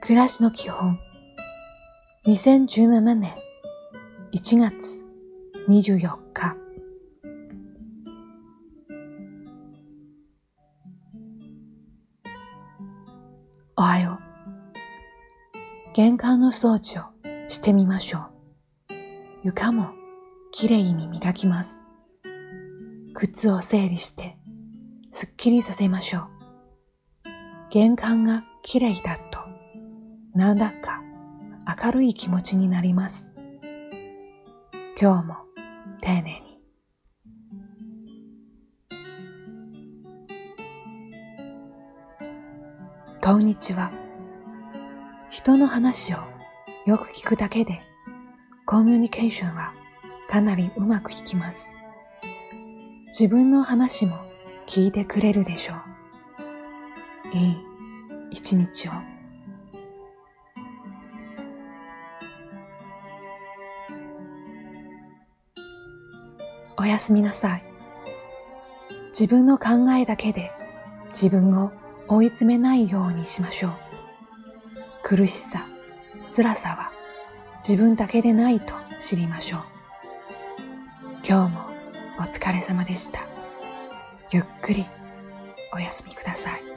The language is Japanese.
暮らしの基本2017年1月24日おはよう。玄関の掃除をしてみましょう。床もきれいに磨きます。靴を整理してすっきりさせましょう。玄関がきれいだとなんだか明るい気持ちになります。今日も丁寧に。こんにちは。人の話をよく聞くだけでコミュニケーションはかなりうまくいきます。自分の話も聞いてくれるでしょう。いい一日を。おやすみなさい。自分の考えだけで自分を追い詰めないようにしましょう。苦しさ、辛さは自分だけでないと知りましょう。今日もお疲れ様でした。ゆっくりお休みください。